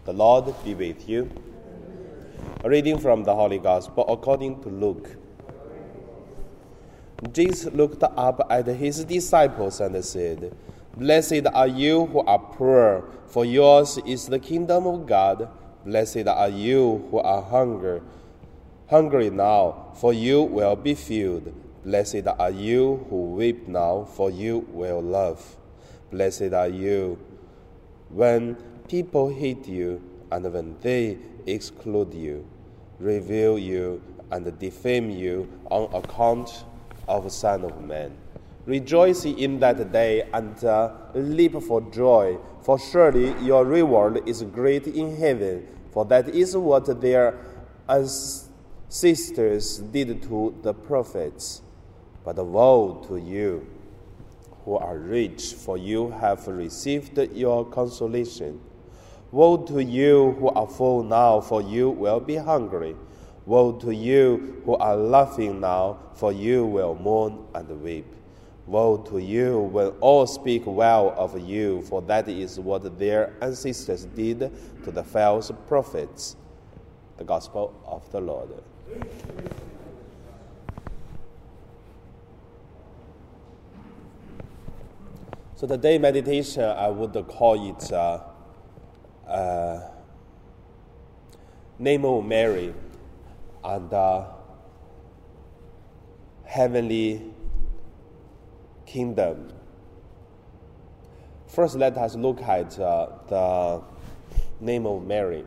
The Lord be with you. A reading from the Holy Gospel according to Luke. Jesus looked up at his disciples and said, "Blessed are you who are poor, for yours is the kingdom of God. Blessed are you who are hungry now, for you will be filled. Blessed are you who weep now, for you will laugh. Blessed are you when people hate you, and when they exclude you, revile you, and defame you on account of the Son of Man. Rejoice in that day and leap for joy, for surely your reward is great in heaven, for that is what their ancestors did to the prophets. But woe to you who are rich, for you have received your consolation. Woe to you who are full now, for you will be hungry. Woe to you who are laughing now, for you will mourn and weep. Woe to you when all speak well of you, for that is what their ancestors did to the false prophets." The Gospel of the Lord. So today meditation, I would call it Name of Mary and Heavenly Kingdom. First, let us look at the name of Mary.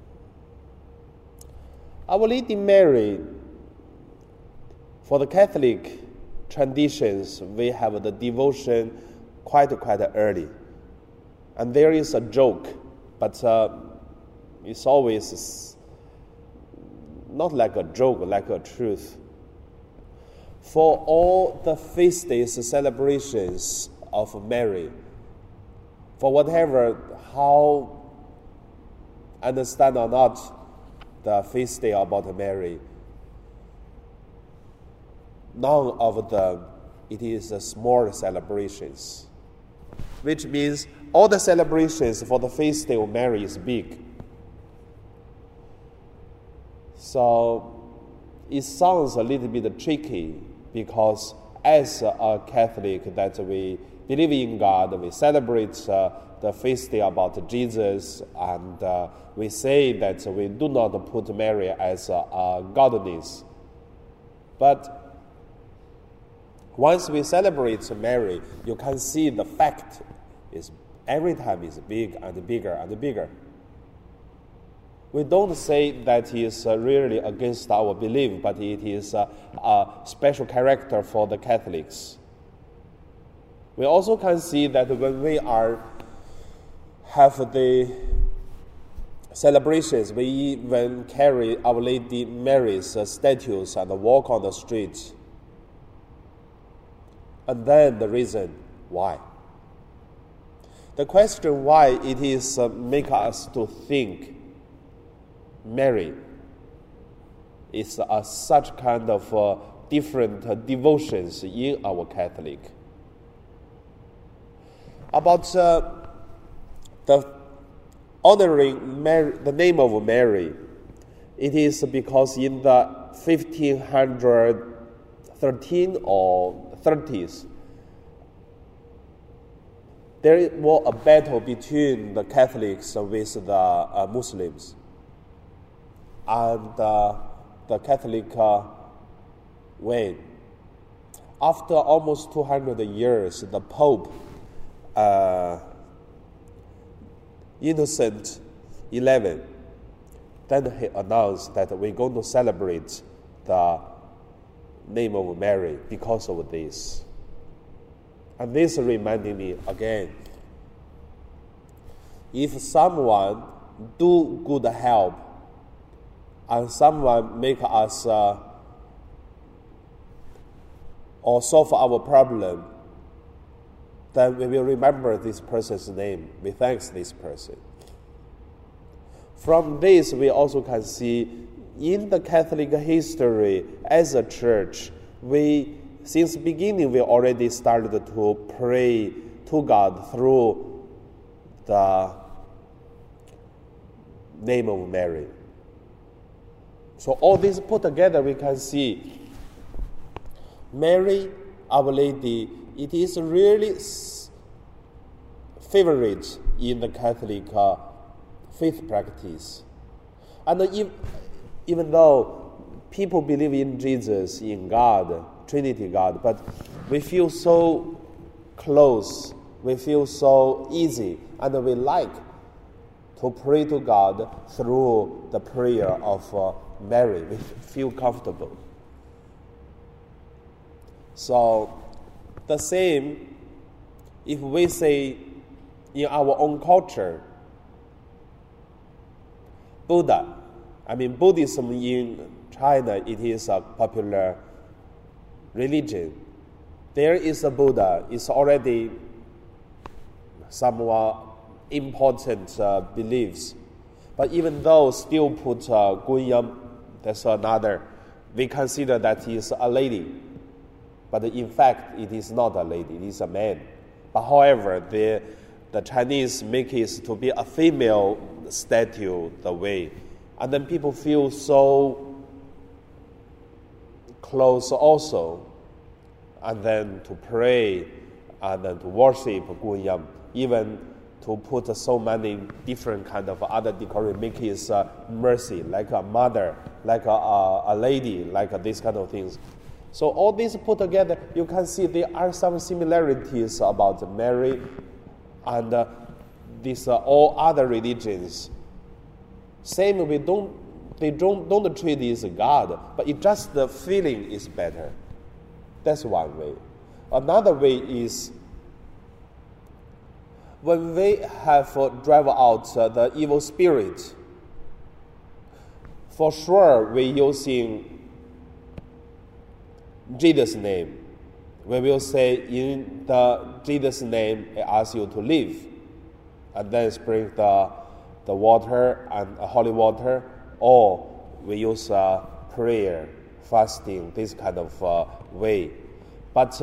Our Lady Mary, for the Catholic traditions, we have the devotion quite early. And there is a joke, but it's always not like a joke, like a truth. For all the feast days celebrations of Mary, for whatever, how understand or not the feast day about Mary, none of them, it is small celebrations, which means all the celebrations for the feast day of Mary is big. So it sounds a little bit tricky, because as a Catholic that we believe in God, we celebrate the feast day about Jesus, and we say that we do not put Mary as a goddess. But once we celebrate Mary, you can see the fact is every time is big and bigger and bigger. We don't say that it is really against our belief, but it is a special character for the Catholics. We also can see that when we have the celebrations, we even carry Our Lady Mary's statues and walk on the streets. And then the reason why. The question why it is make us to think Mary is such kind of different devotions in our Catholic. About the honoring Mary, the name of Mary, it is because in the 1513 or 30s, there was a battle between the Catholics with the Muslims. And the Catholic win. After almost 200 years, the Pope, Innocent XI, then he announced that we're going to celebrate the name of Mary because of this. And this reminded me again, if someone do good help and someone make us or solve our problem, then we will remember this person's name. We thank this person. From this, we also can see in the Catholic history as a church, since the beginning, we already started to pray to God through the name of Mary. So all this put together, we can see Mary, Our Lady, it is really favorite in the Catholic faith practice. And even though people believe in Jesus, in God, Trinity God, but we feel so close, we feel so easy, and we like to pray to God through the prayer of Mary. We feel comfortable. So the same, if we say in our own culture, Buddhism in China, it is a popular religion. There is a Buddha, it's already somewhat important beliefs. But even though still put Gunyam, that's another, we consider that he is a lady. But in fact, it is not a lady, it is a man. But however, the Chinese make it to be a female statue the way. And then people feel so close also. And then to pray, and then to worship Gunyam, even to put so many different kind of other decoration, make his mercy, like a mother, like a lady, like this kind of things. So all this put together, you can see there are some similarities about Mary and these all other religions. Same, they don't treat it as God, but it just the feeling is better. That's one way. Another way is when we have drive out the evil spirit. For sure, we're using Jesus' name. We will say, in the Jesus' name, I ask you to live. And then sprinkle the water and holy water, or we use prayer, fasting, this kind of way. But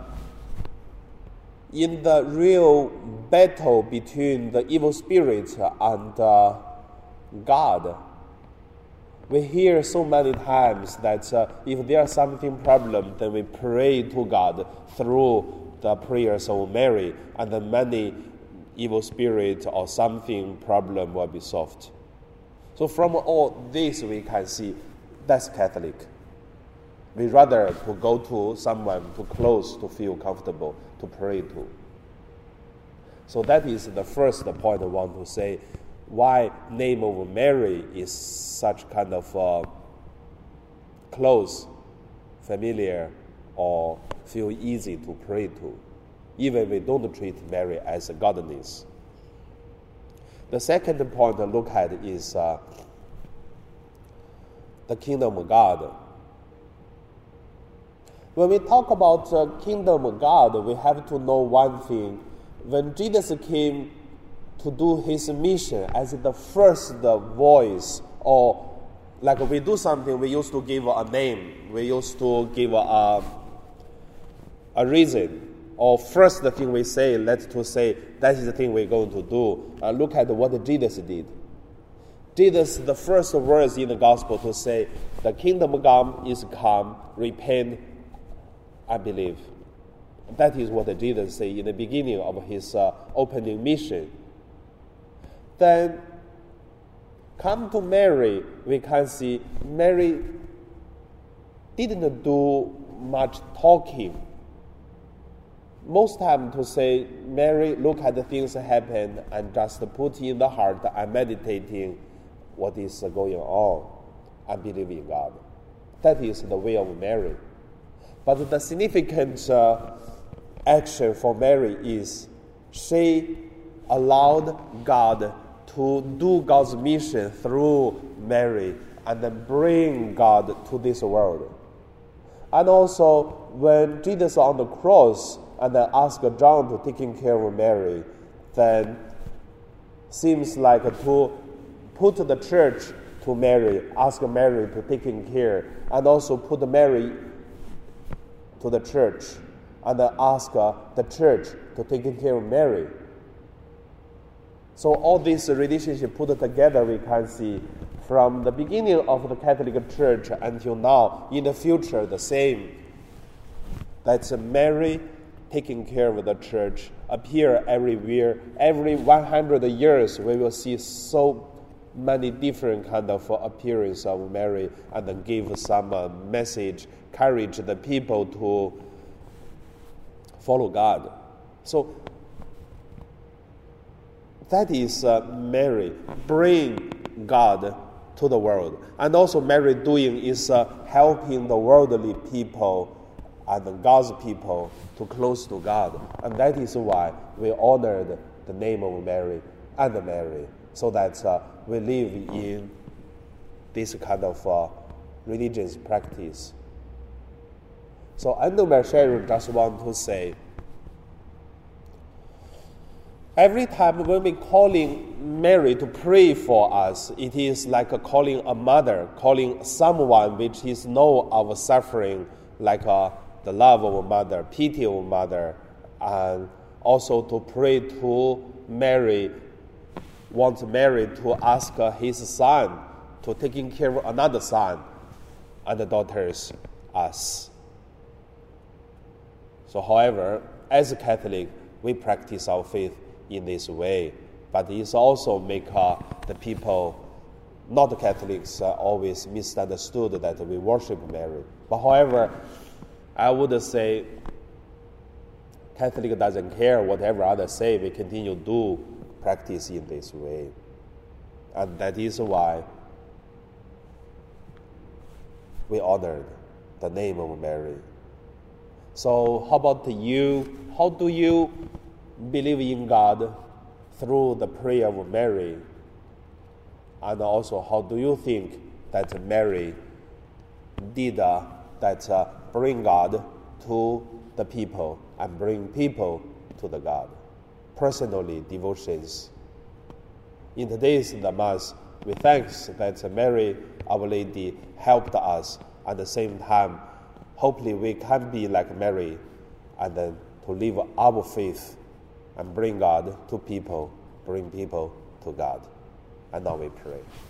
in the real battle between the evil spirit and God, we hear so many times that if there's something problem, then we pray to God through the prayers of Mary, and then many evil spirit or something problem will be solved. So from all this we can see that's Catholic. We rather to go to someone too close to feel comfortable to pray to. So that is the first point I want to say, why name of Mary is such kind of close, familiar, or feel easy to pray to, even we don't treat Mary as a goddess. The second point to look at is the kingdom of God. When we talk about kingdom of God, we have to know one thing. When Jesus came to do his mission as the first voice, or like we do something, we used to give a name, we used to give a reason, or first the thing we say, let's to say that is the thing we're going to do. Look at what Jesus did. Jesus, the first words in the gospel to say, the kingdom of God is come, repent and believe. That is what Jesus said in the beginning of his opening mission. Then come to Mary, we can see Mary didn't do much talking. Most time to say, Mary, look at the things that happen and just put in the heart and meditating what is going on and believe in God. That is the way of Mary. But the significant action for Mary is she allowed God to do God's mission through Mary and then bring God to this world. And also, when Jesus on the cross and then asked John to taking care of Mary, then seems like to put the church to Mary, ask Mary to taking care, and also put Mary to the church, and then ask the church to taking care of Mary. So all this relationship put together, we can see from the beginning of the Catholic Church until now, in the future, the same. That's Mary taking care of the church, appear everywhere. Every 100 years, we will see so many different kind of appearance of Mary, and then give some message, encourage the people to follow God. So that is Mary bring God to the world. And also Mary doing is helping the worldly people and God's people to close to God. And that is why we honored the name of Mary and Mary, so that we live in this kind of religious practice. So I know my sharing just want to say, every time when we calling Mary to pray for us, it is like calling a mother, calling someone which is know our suffering, like the love of a mother, pity of a mother, and also to pray to Mary, want Mary to ask his son to taking care of another son and the daughters, us. So however, as a Catholic, we practice our faith in this way, but it also make the people, not Catholics, always misunderstood that we worship Mary. But however, I would say Catholic doesn't care whatever others say. We continue to do practice in this way, and that is why we honored the name of Mary. So how about you? How do you believe in God through the prayer of Mary? And also, how do you think that Mary did that bring God to the people and bring people to the God? Personally, devotions. In today's the Mass, we thank that Mary, Our Lady, helped us. At the same time, hopefully we can be like Mary and then to live our faith and bring God to people, bring people to God. And now we pray.